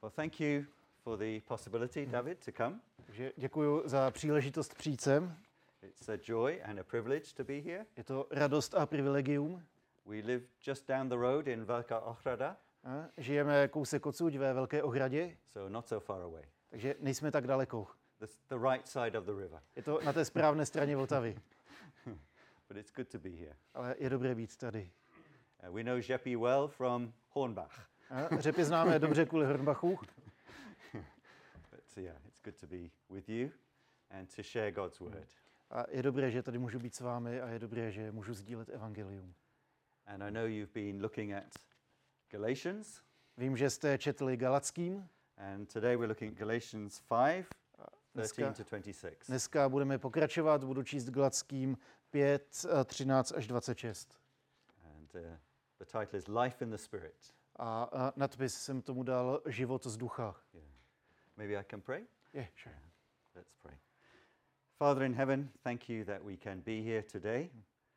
Well, thank you for the possibility, David, to come. Takže děkuji za příležitost přijít sem. It's a joy and a privilege to be here. Je to radost a privilegium. We live just down the road in Velká Ohrada, Žijeme kousek odsud ve Velké Ohradě, so not so far away. takže nejsme tak daleko. The right side of the river. Je to na té správné straně Vltavy, But it's good to be here. ale je dobré být tady. We know Jeppy well from Hornbach. Řepy známe dobře kvůli Hornbachu, But yeah, it's good to be with you and to share God's word. a je dobré, že tady můžu být s vámi a je dobré, že můžu sdílet evangelium. And I know you've been looking at Galatians, Vím, že jste četli Galackým. and today we're looking at Galatians 5, 13 to 26. Dneska budeme pokračovat, budu číst Galackým 5, 13 až 26. And the title is Life in the Spirit. A nadpis jsem tomu dal Život z ducha. Yeah. Maybe I can pray? Je, sure. Let's pray. Father in heaven, thank you that we can be here today.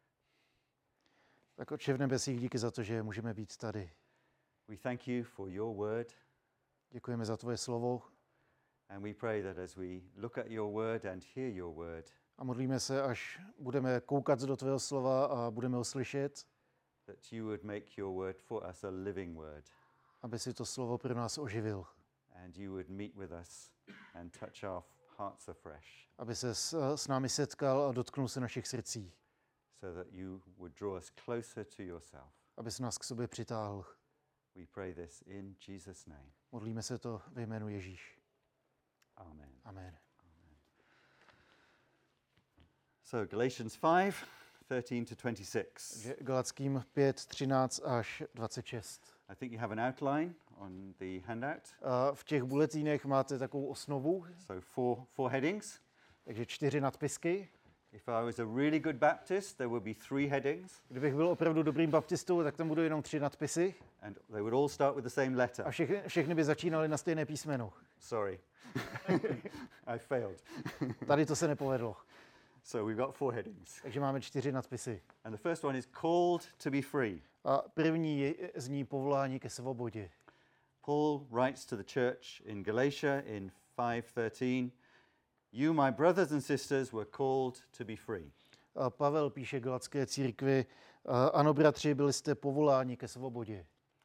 Tak Otče v nebesích, díky za to, že můžeme být tady. We thank you for your word, Děkujeme za tvoje slovo and we pray that as we look at your word and hear your word, a modlíme se, až budeme koukat do tvého slova a budeme ho slyšet, that you would make your word for us a living word, aby si to slovo pro nás oživil, and you would meet with us and touch our hearts afresh, aby se s námi setkal a dotknul se našich srdcí, so that you would draw us closer to yourself. aby se nás k sobě přitáhl. We pray this in Jesus' name. Modlíme se to ve jménu Ježíš. Amen. Amen. So Galatians 5, 13 to 26. Takže Galackým 5, 13 až 26. I think you have an outline on the handout. A v těch bulletínech máte takovou osnovu, So four headings. takže 4 nadpisky. If I was a really good Baptist, there would be 3 headings, Kdybych byl opravdu dobrým baptistou, tak tam budou jenom 3 nadpisy and they would all start with the same a letter. všechny by začínaly na stejné písmeno. Sorry, I failed. Tady to se nepovedlo. So we've got 4 headings. Takže máme 4 nadpisy. And the first one is called to be free. A první zní povolání ke svobodě. Paul writes to the church in Galatia in 5:13, "You, my brothers and sisters, were called to be free." A Pavel píše Galacké církvi, ano, bratři, byli jste povoláni ke svobodě.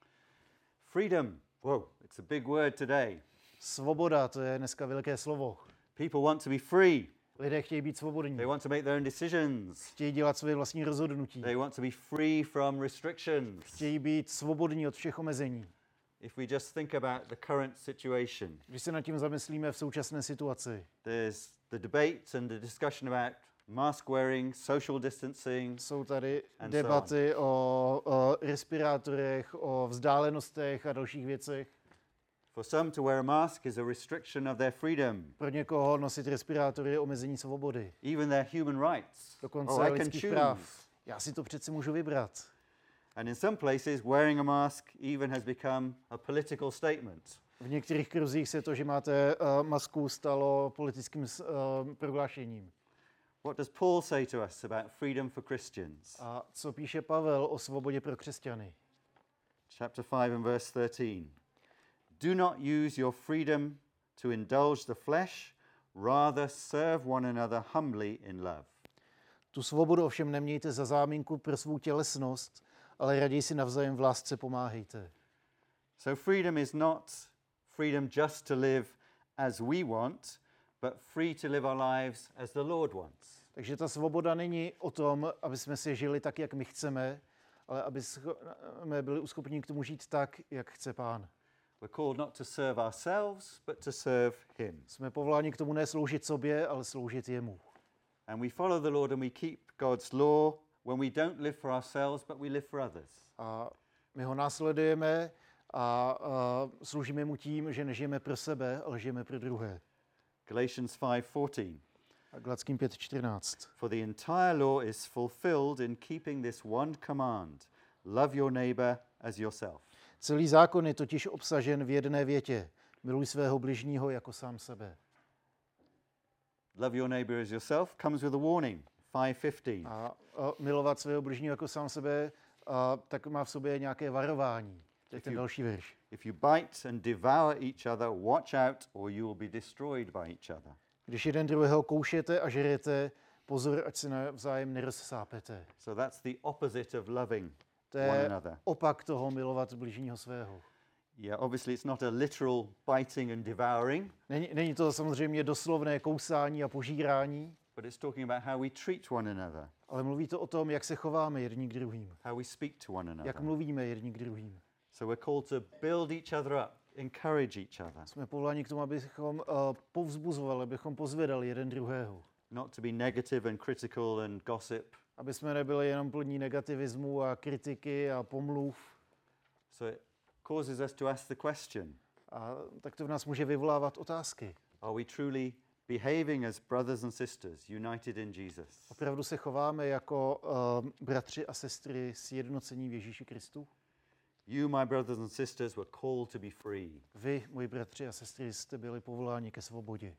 Freedom, whoa, it's a big word today. Svoboda, to je dneska velké slovo. People want to be free. Lidé chtějí být svobodní. They want to make their own decisions. Chtějí dělat své vlastní rozhodnutí. They want to be free from restrictions. Chtějí být svobodní od všech omezení. If we just think about the current situation, Když se nad tím zamyslíme v současné situaci, there's the debate and the discussion about mask wearing, social distancing. jsou tady And debaty o respirátorech, o vzdálenostech a dalších věcech. For some, to wear a mask is a restriction of their freedom, Pro někoho nosit respirátory je omezení svobody. even their human rights. Dokonce Oh, I can lidských choose. práv. Já si to přeci můžu vybrat. And in some places, wearing a mask even has become a political statement. V některých kruzích se to, že máte masku, stalo politickým prohlášením. What does Paul say to us about freedom for Christians? A co píše Pavel o svobodě pro křesťany? Chapter 5 and verse 13. Do not use your freedom to indulge the flesh, rather serve one another humbly in love. Tu svobodu ovšem nemějte za záminku pro svou tělesnost, ale raději si navzájem v lásce pomáhejte. So freedom is not freedom just to live as we want, but free to live our lives as the Lord wants. Takže ta svoboda není o tom, aby jsme si žili tak, jak my chceme, ale aby jsme byli uschopní k tomu žít tak, jak chce Pán. We're called not to serve ourselves, but to serve him. Jsme povoláni k tomu ne sloužit sobě, ale sloužit jemu. And we follow the Lord and we keep God's law when we don't live for ourselves, but we live for others. A my ho následujeme a sloužíme mu tím, že nežijeme pro sebe, ale žijeme pro druhé. Galatians 5:14. A Galackým 5:14. For the entire law is fulfilled in keeping this one command: love your neighbor as yourself. Celý zákon je totiž obsažen v jedné větě. Miluj svého bližního jako sám sebe. Love your neighbor as yourself comes with a warning. 5:15. A milovat svého bližního jako sám sebe, tak má v sobě nějaké varování. To je ten další verš. If you bite and devour each other, watch out, or you will be destroyed by each other. Když jeden druhého koušete a žerete, pozor, ať se navzájem nerozsápete. So that's the opposite of loving To one je another. opak toho milovat bližního svého. Yeah, obviously it's not a literal biting and devouring, Není to samozřejmě doslovné kousání a požírání, but it's talking about how we treat one another, ale mluví to o tom, jak se chováme jedni k druhým, how we speak to one jak another. mluvíme jedni k druhým. So we're called to build each other up, encourage each other, Jsme povoláni k tomu, abychom povzbuzovali, abychom pozvedali jeden druhého. not to be negative and critical and gossip. Aby jsme nebyli jenom plní negativismu a kritiky a pomluv. So it causes us to ask the question, A tak to v nás může vyvolávat otázky. are we truly behaving as brothers and sisters united in Jesus? Opravdu se chováme jako bratři a sestry sjednocení v Ježíši Kristu? You, my brothers and sisters, were called to be free. Vy, moji bratři a sestry, jste byli povoláni ke svobodě.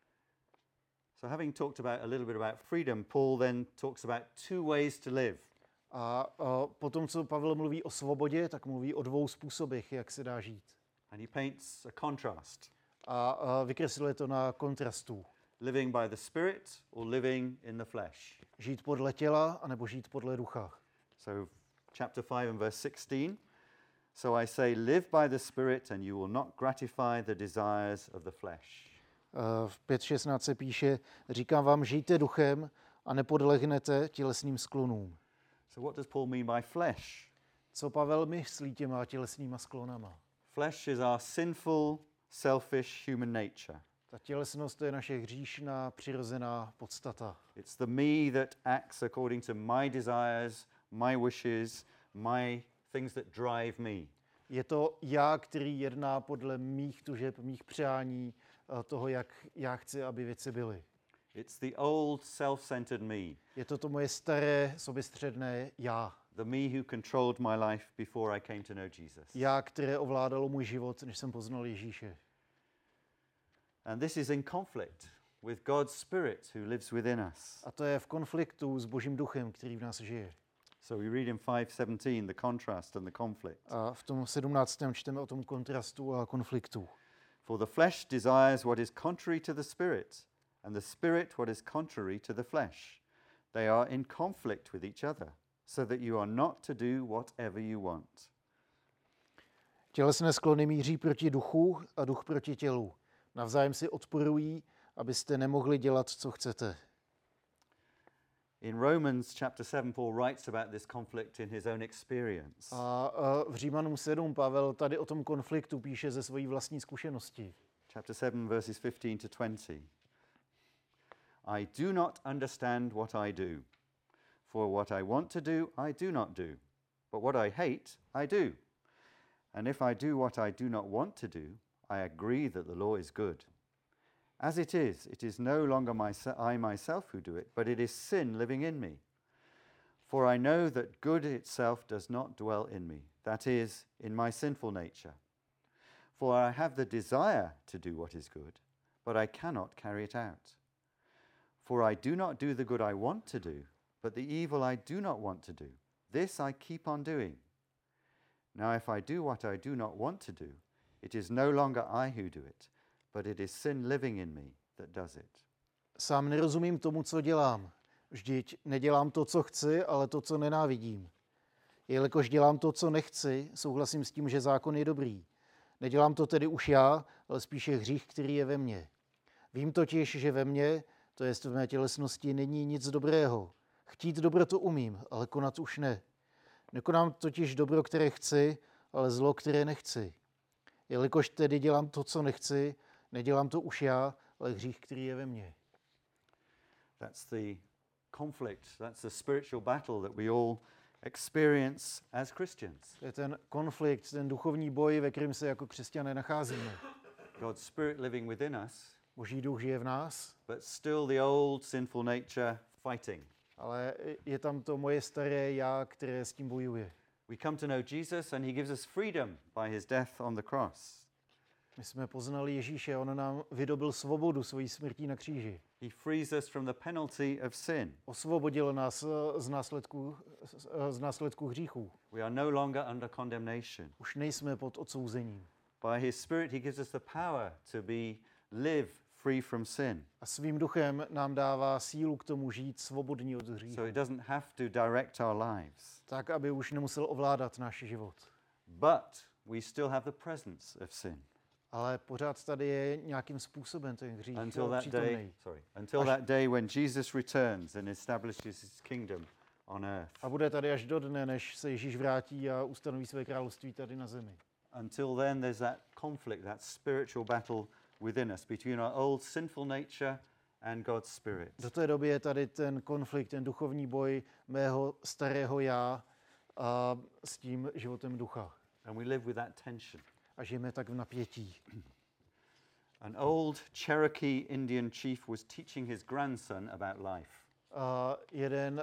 So having talked about a little bit about freedom, Paul then talks about two ways to live. A potom, co Pavel mluví o svobodě, tak mluví o dvou způsobech, jak se dá žít. And he paints a contrast, A vykresluje to na kontrastu. living by the Spirit or living in the flesh. Žít podle těla, anebo žít podle ducha. So chapter 5 and verse 16. So I say, live by the Spirit and you will not gratify the desires of the flesh. V 5.16 se píše, říkám vám, žijte duchem a nepodlehnete tělesným sklonům. So what does Paul mean by flesh? Co Pavel myslí těma tělesnýma sklonama? Flesh is our sinful, selfish human nature. Ta tělesnost, to je naše hříšná, přirozená podstata. It's the me that acts according to my desires, my wishes, my things that drive me. Je to já, který jedná podle mých tužeb, mých přání, toho, jak já chci, aby věci byly. It's the old self-centered me, Je to moje staré, soběstředné já. the me who controlled my life before I came to know Jesus. Já, které ovládalo můj život, než jsem poznal Ježíše. And this is in conflict with God's Spirit who lives within us. A to je v konfliktu s Božím duchem, který v nás žije. So we read in 5:17 the contrast and the conflict. A v tom 17. čteme o tom kontrastu a konfliktu. For the flesh desires what is contrary to the Spirit, and the Spirit what is contrary to the flesh. They are in conflict with each other, so that you are not to do whatever you want. Tělesné sklony míří proti duchu a duch proti tělu. Navzájem si odporují, abyste nemohli dělat, co chcete. In Romans chapter 7, Paul writes about this conflict in his own experience. A v Římanům 7 Pavel tady o tom konfliktu píše ze své vlastní zkušenosti. Chapter 7, verses 15 to 20. I do not understand what I do. For what I want to do, I do not do. But what I hate, I do. And if I do what I do not want to do, I agree that the law is good. As it is no longer I myself who do it, but it is sin living in me. For I know that good itself does not dwell in me, that is, in my sinful nature. For I have the desire to do what is good, but I cannot carry it out. For I do not do the good I want to do, but the evil I do not want to do, this I keep on doing. Now if I do what I do not want to do, it is no longer I who do it, but it is sin living in me that does it. Sám nerozumím tomu, co dělám. Vždyť nedělám to, co chci, ale to, co nenávidím. Jelikož dělám to, co nechci, souhlasím s tím, že zákon je dobrý. Nedělám to tedy už já, ale spíše hřích, který je ve mně. Vím totiž, že ve mně, to jest v mé tělesnosti, není nic dobrého. Chtít dobro to umím, ale konat už ne. Nekonám totiž dobro, které chci, ale zlo, které nechci. Jelikož tedy dělám to, co nechci, nedělám to už já, ale hřích, který je ve mně. That's the conflict, that's the spiritual battle that we all experience as Christians. To je ten konflikt, ten duchovní boj, ve kterém se jako křesťané nacházíme. God's Spirit living within us, Boží duch žije v nás, but still the old sinful nature fighting. ale je tam to moje staré já, které s tím bojuje. We come to know Jesus and he gives us freedom by his death on the cross. My jsme poznali Ježíše, on nám vydobil svobodu svojí smrtí na kříži. He frees us from the penalty of sin. Osvobodil nás z následků hříchů. We are no longer under condemnation. Už nejsme pod odsouzením. By his Spirit, he gives us the power to live free from sin. A svým duchem nám dává sílu k tomu žít svobodní od hříchu. So he doesn't have to direct our lives. Tak, aby už nemusel ovládat náš život. But we still have the presence of sin. Ale pořád tady je nějakým způsobem ten hřích Until přítomný. that day when Jesus returns and establishes his kingdom on earth. A bude tady až do dne, než se Ježíš vrátí a ustanoví své království tady na zemi. Until then, there's that conflict, that spiritual battle within us between our old sinful nature and God's Spirit. Do té doby je tady ten konflikt, ten duchovní boj mého starého já a s tím životem ducha. And we live with that tension. A žijeme tak v napětí. An old Cherokee Indian chief was teaching his grandson about life. Jeden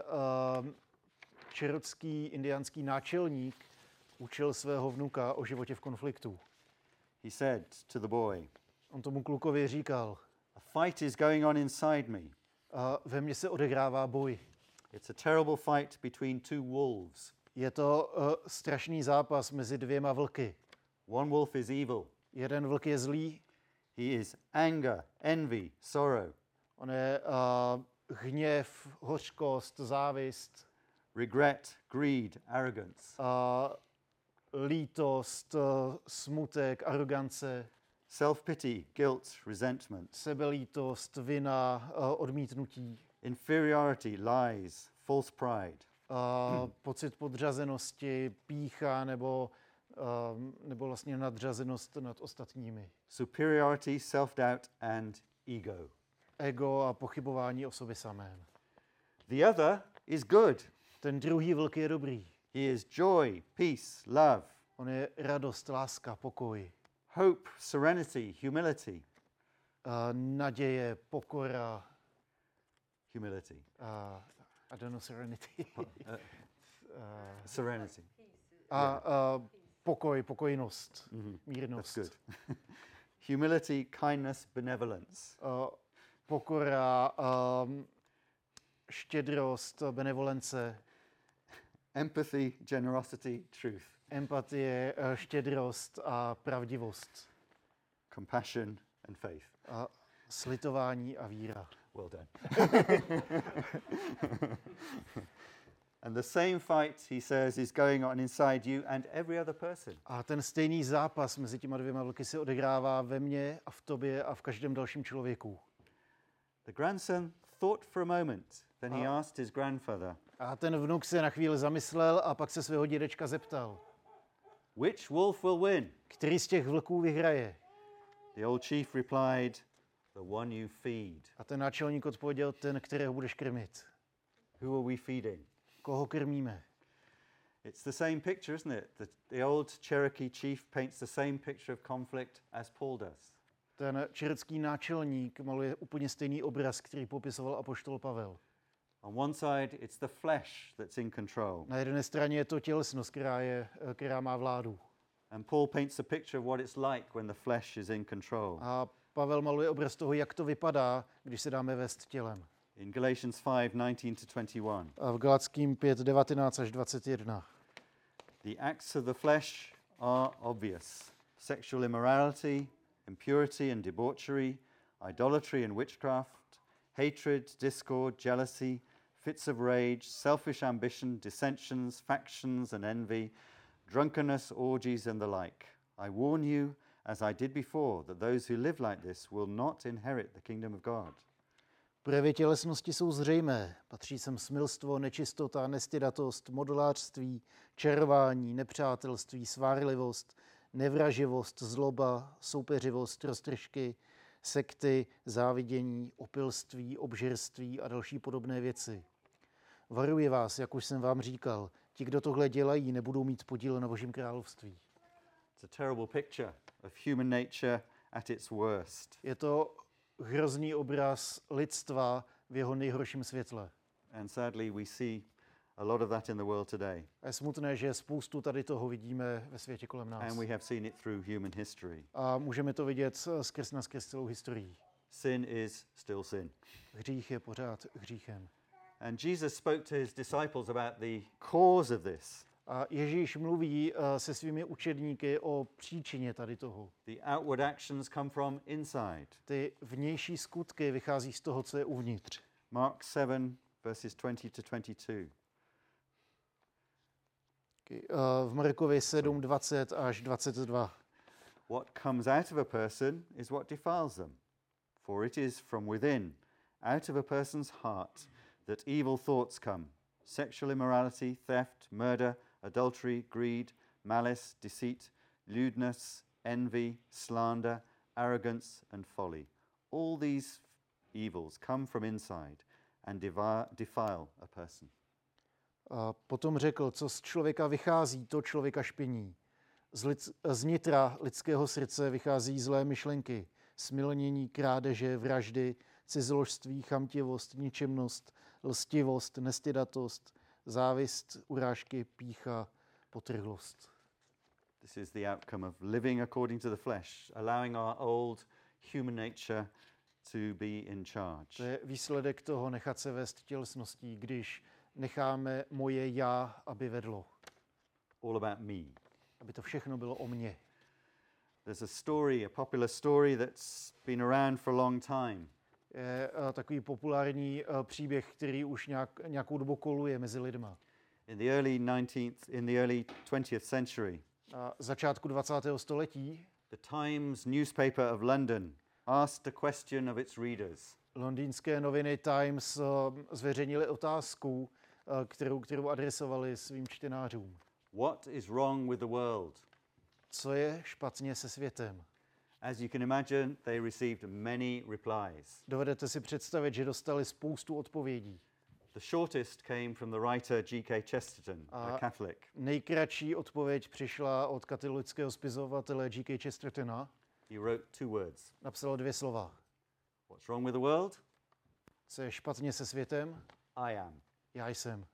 čerokský indiánský náčelník učil svého vnuka o životě v konfliktu. He said to the boy, On tomu klukovi říkal, "A fight is going on inside me. ve mně se odehrává boj. It's a terrible fight between two wolves. Je to strašný zápas mezi dvěma vlky. One wolf is evil. Jeden vlk je zlý, He is anger, envy, sorrow, on je hněv, hořkost, závist, regret, greed, arrogance, lítost, smutek, arogance, self-pity, guilt, resentment, sebelítost, vina, odmítnutí, inferiority, lies, false pride. Pocit podřazenosti, pýcha nebo vlastně nadřazenost nad ostatními. Superiority, self-doubt, and ego. Ego a pochybování o sobě samém. The other is good. Ten druhý vlk je dobrý. He is joy, peace, love, On je radost, láska, pokoj, hope, serenity, humility. Naděje, pokora, Humility. I don't know, serenity. Serenity. Pokoj, pokojnost, That's mírnost. good. Humility, kindness, benevolence. Pokora, štědrost, benevolence, Empathy, generosity, truth. empatie, štědrost a pravdivost. Compassion and faith. Slitování a víra. Well done. And the same fight, he says, is going on inside you and every other person. A ten stejný zápas mezi těma dvěma vlky se odehrává ve mně a v tobě a v každém dalším člověku. The grandson thought for a moment, then he asked his grandfather, A ten vnuk se na chvíli zamyslel a pak se svého dědečka zeptal, which wolf will win? který z těch vlků vyhraje. The old chief replied, the one you feed. A ten náčelník odpověděl, ten, kterého budeš krmit. Who are we feeding? Koho krmíme? It's the same picture, isn't it? The old Cherokee chief paints the same picture of conflict as Paul does. Ten čerocký náčelník maluje úplně stejný obraz, který popisoval apoštol Pavel. On one side, it's the flesh that's in control. Na jedné straně je to tělesnost, která má vládu. And Paul paints a picture of what it's like when the flesh is in control. A Pavel maluje obraz toho, jak to vypadá, když se dáme vést tělem. In Galatians 5:19-21. A v Galatským 5:19 až 21. The acts of the flesh are obvious: sexual immorality, impurity and debauchery, idolatry and witchcraft, hatred, discord, jealousy, fits of rage, selfish ambition, dissensions, factions and envy, drunkenness, orgies and the like. I warn you, as I did before, that those who live like this will not inherit the kingdom of God. Projevy tělesnosti jsou zřejmé. Patří sem smilstvo, nečistota, nestydatost, modelářství, čarování, nepřátelství, svárlivost, nevraživost, zloba, soupeřivost, roztržky, sekty, závidění, opilství, obžerství a další podobné věci. Varuji vás, jak už jsem vám říkal, ti, kdo tohle dělají, nebudou mít podíl na Božím království. It's a terrible picture of human nature at its worst. Je to hrozný obraz lidstva v jeho nejhorším světle. And sadly, we see a lot of that in the world today. A je smutné, že spoustu tady toho vidíme ve světě kolem nás. And we have seen it through human history. A můžeme to vidět skrz celou historii. Sin is still sin. Hřích je pořád hříchem. And Jesus spoke to his disciples about the cause of this. A Ježíš mluví se svými učedníky o příčině tady toho. The outward actions come from inside. Ty vnější skutky vychází z toho, co je uvnitř. Mark 7, verses 20 to 22. V Markovi 7, 20 až 22. What comes out of a person is what defiles them. For it is from within, out of a person's heart, that evil thoughts come. Sexual immorality, theft, murder, adultery, greed, malice, deceit, lewdness, envy, slander, arrogance, and folly. All these evils come from inside and defile a person. A potom řekl, co z člověka vychází, to člověka špiní. Z nitra lidského srdce vychází zlé myšlenky, smilnění, krádeže, vraždy, cizoložství, chamtivost, ničemnost, lstivost, nestydatost, závist, urážky, pýcha, potrhlost. This is the outcome of living according to the flesh, allowing our old human nature to be in charge. To je výsledek toho nechat se vést tělesností, když necháme moje já, aby vedlo. All about me. Aby to všechno bylo o mně. There's a story, a popular story that's been around for a long time. Je takový populární příběh, který už nějakou dobu koluje mezi lidma. In the early 20th century, Na začátku 20. století the Times newspaper of London asked a question of its readers. londýnské noviny Times zveřejnili otázku, kterou adresovali svým čtenářům. What is wrong with the world? Co je špatně se světem? As you can imagine, they received many replies. Dovedete si představit, že dostali spoustu odpovědí. The shortest came from the writer G.K. Chesterton, a Catholic. Nejkratší odpověď přišla od katolického spisovatele G.K. Chestertona. He wrote 2 words. Napsal 2 slova. What's wrong with the world? Co je špatně se světem? I am. Já jsem.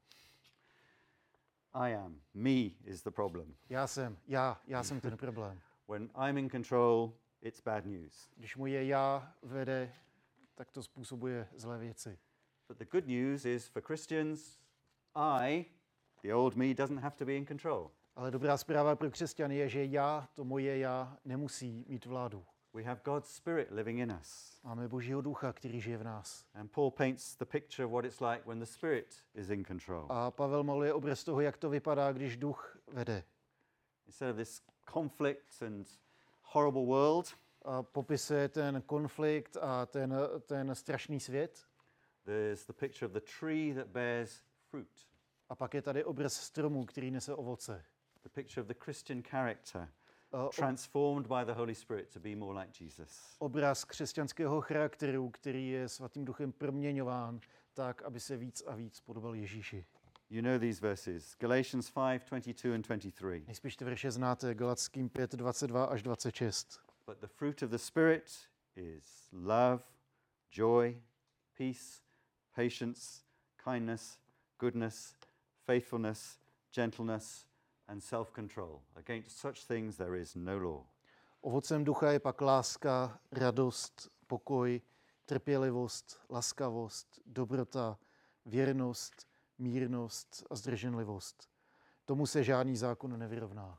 I am. Me is the problem. Já jsem ten problém. When I'm in control, it's bad news. Když moje já vede, tak to způsobuje zlé věci. But the good news is for Christians, the old me, doesn't have to be in control. Ale dobrá zpráva pro křesťany je, že to moje já, nemusí mít vládu. We have God's Spirit living in us. Máme Božího ducha, který žije v nás. And Paul paints the picture of what it's like when the Spirit is in control. A Pavel maluje obraz toho, jak to vypadá, když duch vede. Instead of this conflict and horrible world, A popisuje ten konflikt a ten strašný svět. there's the picture of the tree that bears fruit. A pak je tady obraz stromu, který nese ovoce. The picture of the Christian character transformed by the Holy Spirit to be more like Jesus. Obraz křesťanského charakteru, který je svatým duchem proměňován tak, aby se víc a víc podobal Ježíši. You know these verses, Galatians 5:22 and 23. Nejspíš ty verše znáte, Galatským 5, 22 až 26. But the fruit of the Spirit is love, joy, peace, patience, kindness, goodness, faithfulness, gentleness, and self-control. Against such things there is no law. Ovocem ducha je pak láska, radost, pokoj, trpělivost, laskavost, dobrota, věrnost, mírnost a zdrženlivost. Tomu se žádný zákon nevyrovná.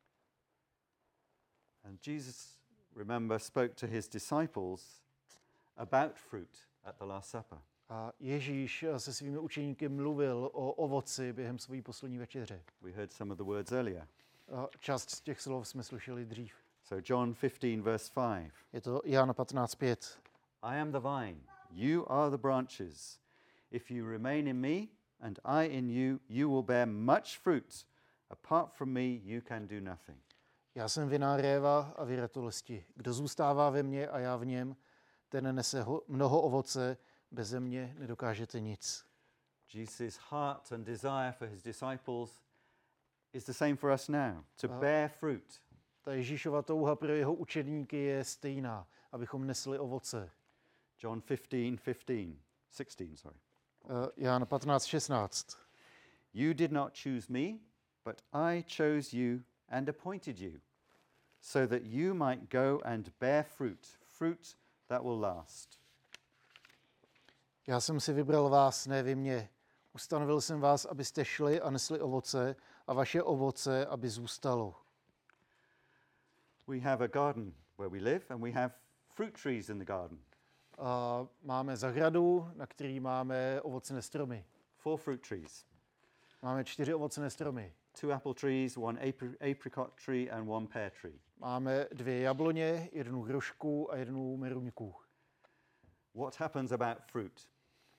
And Jesus, remember, spoke to his disciples about fruit at the Last Supper. A Ježíš se svými učeníky mluvil o ovoci během své poslední večeře. We heard some of the words earlier. A část z těch slov jsme slyšeli dřív. So John 15, verse 5. Je to Jan 15:5. I am the vine, you are the branches. If you remain in me and I in you, you will bear much fruit. Apart from me, you can do nothing. Já jsem viná réva a vy ratolesti. Kdo zůstává ve mně a já v něm, ten nese mnoho ovoce, beze mě nedokážete nic. Jesus' heart and desire for his disciples is the same for us now, to bear fruit. Ta Ježíšova touha pro jeho učedníky je stejná, abychom nesli ovoce. John 15:16, sorry. Jan 15:16. You did not choose me, but I chose you and appointed you, so that you might go and bear fruit that will last. Já jsem si vybral vás, ne vy mě. Ustanovil jsem vás, abyste šli a nesli ovoce a vaše ovoce, aby zůstalo. We have a garden where we live and we have fruit trees in the garden. A máme zahradu, na který máme ovocné stromy. 4 fruit trees. Máme 4 ovocné stromy. 2 apple trees, 1 apricot tree and 1 pear tree. Máme 2 jabloně, 1 hrušku a 1 meruňku. What happens about fruit?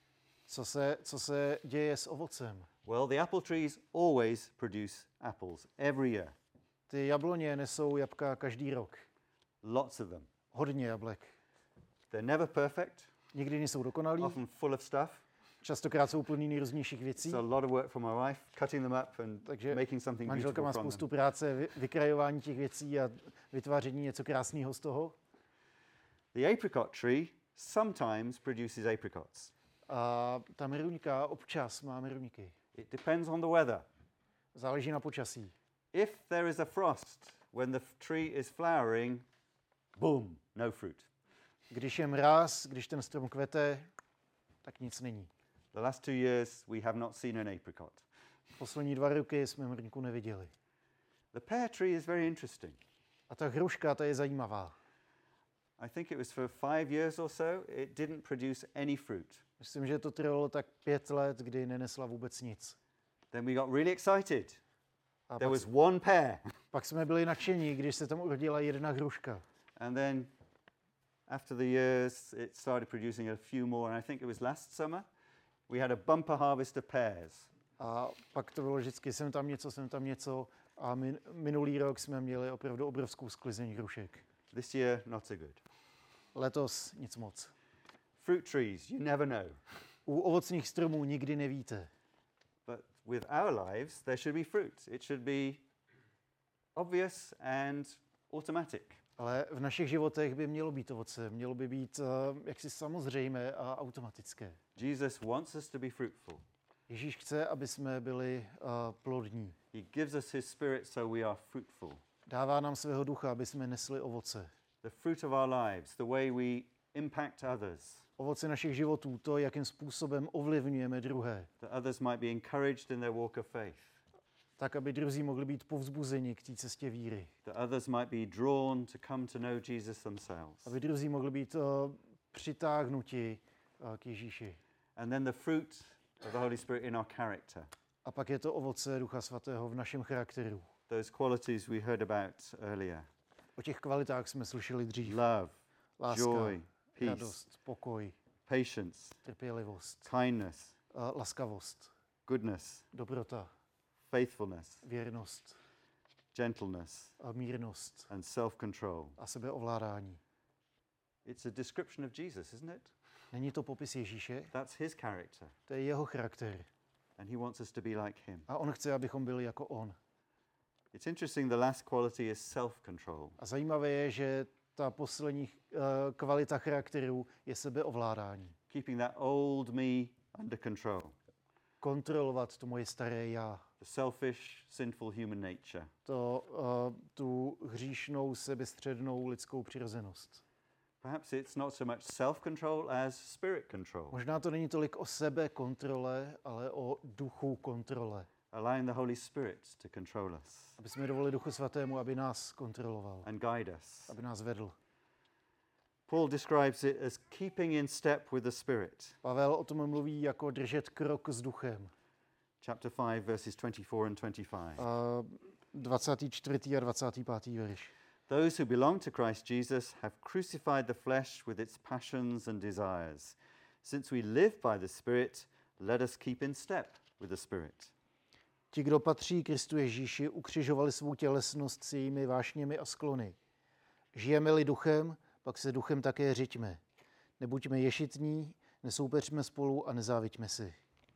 Co se děje s ovocem? Well, the apple trees always produce apples every year. Ty jabloně nesou jabka každý rok. Lots of them. Hodně jablek. They're never perfect, Nikdy nejsou dokonalí, often full of stuff. častokrát jsou plný nejrůznějších věcí. It's a lot of work for my wife, cutting them up and Takže making something manželka má beautiful from spoustu them. práce, vykrajování těch věcí a vytváření něco krásného z toho. The apricot tree sometimes produces apricots. A ta meruňka občas má meruňky. It depends on the weather. Záleží na počasí. If there is a frost when the tree is flowering, boom, no fruit. Když je mráz, když ten strom kvete, tak nic není. The last 2 years we have not seen an apricot. Poslední 2 roky jsme meruňku neviděli. The pear tree is very interesting. A ta hruška, ta je zajímavá. I think it was for 5 years or so, it didn't produce any fruit. Myslím, že to trvalo tak 5 let, kdy nenesla vůbec nic. Then we got really excited. A There was 1 pear. pak jsme byli nadšení, když se tam urodila 1 hruška. And then after the years, it started producing a few more. And I think it was last summer, we had a bumper harvest of pears. A pak to bylo vždycky sem tam něco. A minulý rok jsme měli opravdu obrovskou sklizeň hrušek. This year, not so good. Letos nic moc. Fruit trees, you never know. U ovocných stromů nikdy nevíte. But with our lives, there should be fruit. It should be obvious and automatic. Ale v našich životech by mělo být ovoce, mělo by být jaksi samozřejmé a automatické. Jesus wants us to be fruitful. Ježíš chce, aby jsme byli plodní. He gives us his spirit so we are fruitful. Dává nám svého ducha, aby jsme nesli ovoce. The fruit of our lives, the way we impact others, Ovoce našich životů, to, jakým způsobem ovlivňujeme druhé, that others might be encouraged in their walk of faith, tak, aby druzí mohli být povzbuzeni k té cestě víry. that others might be drawn to come to know Jesus themselves. Aby druzí mohli být přitáhnuti k Ježíši. And then the fruit of the Holy Spirit in our character. A pak je to ovoce Ducha Svatého v našem charakteru. Those qualities we heard about earlier. O těch kvalitách jsme slyšeli dřív. Love, Láska, joy, peace, radost, pokoj, patience, trpělivost, kindness, laskavost, goodness, dobrota, faithfulness, věrnost, gentleness, mírnost and self-control. a sebeovládání. It's a description of Jesus, isn't it? Není to popis Ježíše? That's his character. To je jeho charakter. And he wants us to be like him. A on chce, abychom byli jako on. It's interesting, the last quality is self-control. A zajímavé je, že ta poslední kvalita charakteru je sebeovládání. Keeping that old me under control. Kontrolovat to moje staré já. The selfish, sinful human nature. Tu hříšnou, sebestřednou lidskou přirozenost. Perhaps it's not so much self-control as spirit control. Možná to není tolik o sebekontrole, ale o duchu kontrole. Allowing the Holy Spirit to control us Aby jsme dovolili Duchu Svatému, aby nás kontroloval, and guide us. aby nás vedl. Paul describes it as keeping in step with the Spirit. Pavel o tom mluví jako držet krok s duchem. Chapter 5, verses 24 and 25. 24. a 25. verš. Those who belong to Christ Jesus have crucified the flesh with its passions and desires. Since we live by the Spirit, let us keep in step with the Spirit. Ti, kdo patří Kristu Ježíši, ukřižovali svou tělesnost s jejími vášněmi a sklony. Žijeme-li duchem, pak se duchem také řiďme. Nebuďme ješitní, nesoupeřme spolu a nezáviďme si.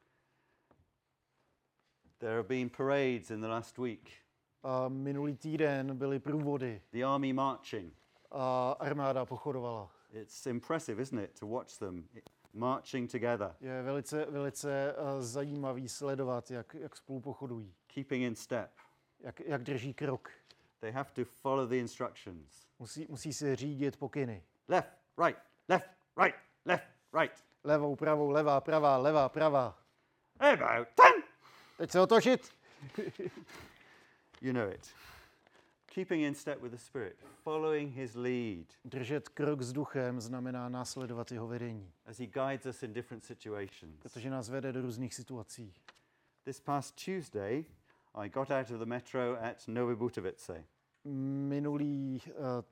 There have been parades in the last week. A minulý týden byly průvody The army marching. a armáda pochodovala. It's impressive, isn't it, to watch them marching together, Je velice zajímavý sledovat, jak spolu pochodují, keeping in step. jak drží krok. They have to follow the instructions. Musí se řídit pokyny. Left, right, left, right, left, right. Levou, pravou, levá, pravá. About 10. Teď se otočit. You know it. Keeping in step with the Spirit, following his lead Držet krok s duchem znamená následovat jeho vedení, as he guides us in different situations. protože nás vede do různých situací. This past Tuesday, I got out of the metro at Nové Butovice. Minulý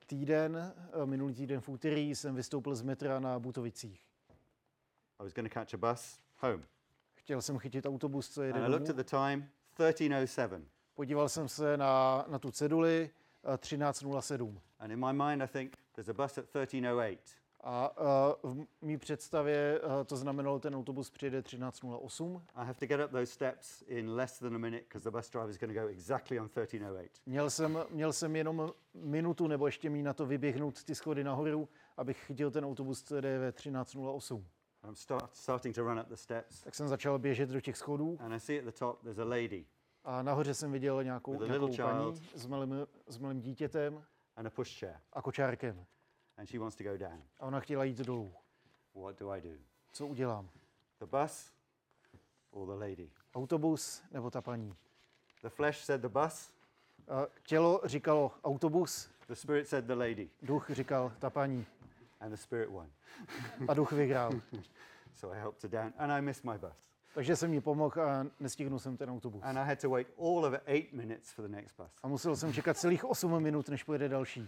týden v úterý jsem vystoupil z metra na Butovicích. I was going to catch a bus home. Chtěl jsem chytit autobus, co jede And I looked at domů. the time, 13:07. Podíval jsem se na tu ceduli 13:07. And in my mind, I think there's a bus at 13:08. A v mý představě to znamenalo, ten autobus přijede 13:08. I have to get up those steps in less than a minute because the bus driver is going to go exactly on 13:08. Měl jsem jenom minutu nebo ještě míň na to vyběhnout ty schody nahoru, abych chytil ten autobus, co jede ve 13:08. I'm starting to run up the steps, Tak jsem začal běžet do těch schodů and I see at the top there's a lady a nahoře jsem viděl nějakou With a little paní s malým dítětem and a pushchair, a kočárkem. and she wants to go down. A ona chtěla jít dolů. What do I do? Co udělám? The bus or the lady? Autobus nebo ta paní? The flesh said the bus, Tělo říkalo autobus, the spirit said the lady, duch říkal ta paní. and the spirit won. A duch vyhrál. So I helped her down, and I missed my bus. Takže jsem jí pomohl a nestihnul jsem ten autobus. And I had to wait all of 8 minutes for the next bus. A musel jsem čekat celých 8 minut, než pojede další.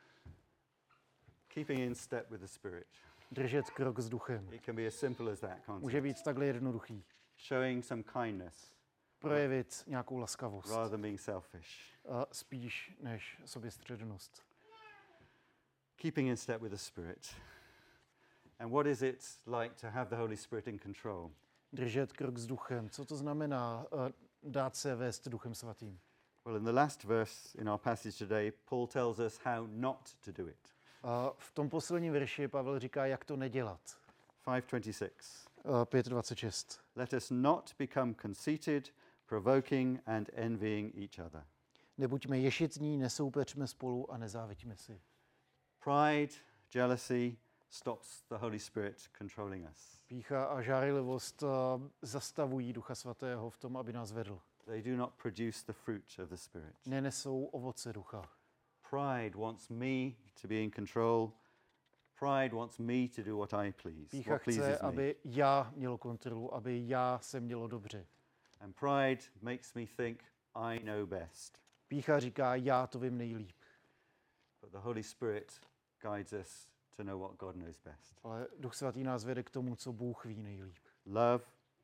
Keeping in step with the spirit. Držet krok s duchem. It can be as simple as that Může concept. být takhle jednoduchý. Showing some kindness Projevit nějakou laskavost. rather than being selfish. Spíš než soběstřednost. Keeping in step with the spirit. And what is it like to have the Holy Spirit in control? Držet krok s duchem. Co to znamená dát se vést duchem svatým? Well, in the last verse in our passage today, Paul tells us how not to do it. V tom posledním verši Pavel říká, jak to nedělat. 5:26. 5:26. Let us not become conceited, provoking and envying each other. Nebuďme ješitní, nesoupečme spolu a nezáviďme si. Pride, jealousy stops the Holy Spirit controlling us. Pýcha a žárlivost zastavují Ducha Svatého v tom, aby nás vedl. They do not produce the fruit of the Spirit. Nenesou ovoce ducha. Pride wants me to be in control. Pride wants me to do what I please. Pýcha What chce, pleases me. aby já měl kontrolu, aby já se mělo dobře. And pride makes me think I know best. Pýcha říká, já to vím nejlíp. But the Holy Spirit guides us to know what God knows best. Ale Duch Svatý nás vede k tomu, co Bůh ví nejlíp. Love,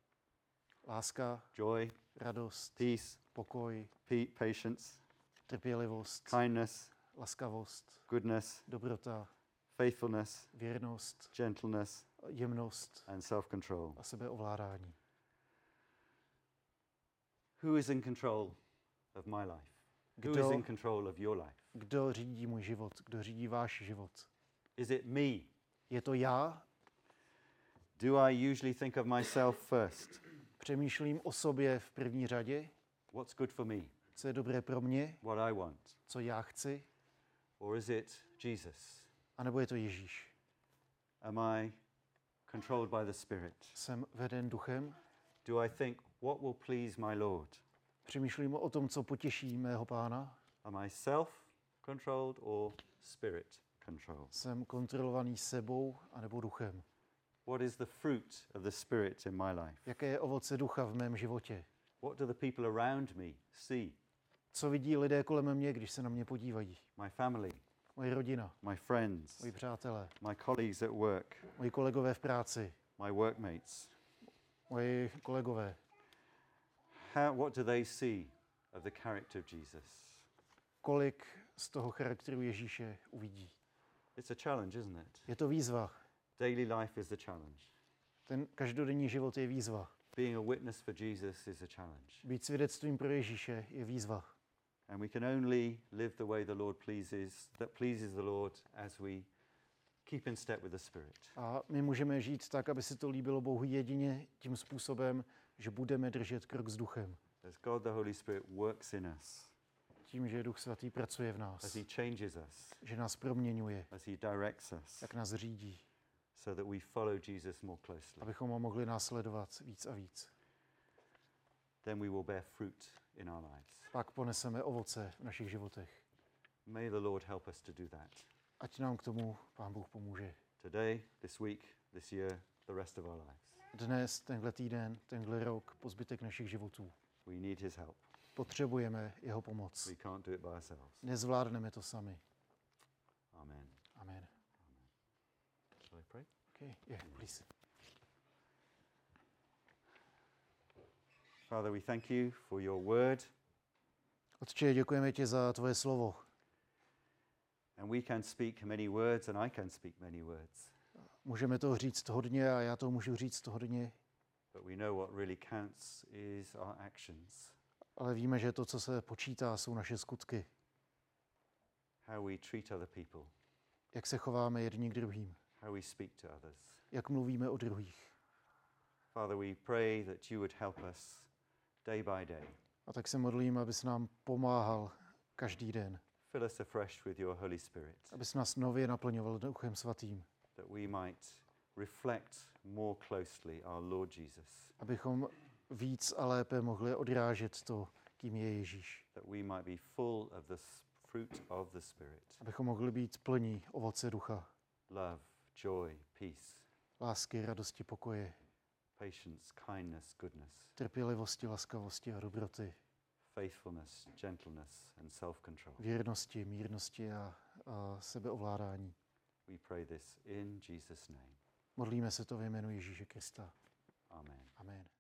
Láska, joy, radost, peace, pokoj, patience, trpělivost, kindness, laskavost, goodness, dobrota, faithfulness, věrnost, gentleness, jemnost and self-control. a sebeovládání. Who is in control of my life? Who is in control of your life? Kdo řídí můj život? Kdo řídí váš život? Is it me? Je to já? Do I usually think of myself first? Přemýšlím o sobě v první řadě? What's good for me? Co je dobré pro mě? What I want? Co já chci? Or is it Jesus? A nebo je to Ježíš? Am I controlled by the Spirit? Jsem veden duchem? Do I think what will please my Lord? Přemýšlím o tom, co potěší mého Pána? Am I self-controlled or Spirit-controlled? Jsem kontrolovaný sebou anebo duchem? What is the fruit of the Spirit in my life? Jaké je ovoce ducha v mém životě? What do the people around me see? Co vidí lidé kolem mě, když se na mě podívají? My family, Moje rodina, my friends, moji přátelé, my colleagues at work, moji kolegové v práci, my workmates. moji kolegové. What do they see of the character of Jesus? Kolik z toho charakteru Ježíše uvidí? It's a challenge, isn't it? Je to výzva. Daily life is a challenge. Ten každodenní život je výzva. Being a witness for Jesus is a challenge. Být svědectvím pro Ježíše je výzva. And we can only live the way the Lord pleases, that pleases the Lord as we keep in step with the Spirit. A my můžeme žít tak, aby se to líbilo Bohu jedině tím způsobem, že budeme držet krok s duchem. As God the Holy Spirit works in us, Tím, že Duch Svatý pracuje v as nás, He changes us, že nás proměňuje, as He directs us, jak nás řídí, so that we follow Jesus more closely. abychom ho mohli následovat víc a víc. Then we will bear fruit in our lives. Pak poneseme ovoce v našich životech. May the Lord help us to do that. Ať nám k tomu Pán Bůh pomůže. Today, this week, this year, the rest of our lives. Dnes, tenhle týden, tenhle rok, po zbytek našich životů. We need His help. Potřebujeme jeho pomoc. We can't do it by ourselves. Nezvládneme to sami. Amen. Amen. Shall I pray? Okay, yeah, please. Father, we thank you for your word, Otče, děkujeme ti za tvoje slovo. and we can speak many words, and I can speak many words, Můžeme toho říct hodně a já toho můžu říct hodně, but we know what really counts is our actions, ale víme, že to, co se počítá, jsou naše skutky. how we treat other people, Jak se chováme jedni k druhým, how we speak to others. jak mluvíme o druhých. Father, we pray that you would help us day by day. A tak se modlím, abys nám pomáhal každý den, Fill us afresh with your Holy Spirit, abys nás nově naplňoval Duchem Svatým, that we might reflect more closely our Lord Jesus, abychom víc a lépe mohli odrážet to, kým je Ježíš. that we might be full of the fruit of the Spirit, Abychom mohli být plní ovoce ducha, love, joy, peace, lásky, radosti, pokoje, patience, kindness, goodness, trpělivosti, laskavosti a dobroty, faithfulness, gentleness, and self-control. věrnosti, mírnosti a sebeovládání. We pray this in Jesus' name. Modlíme se to ve jménu Ježíše Krista. Amen. Amen.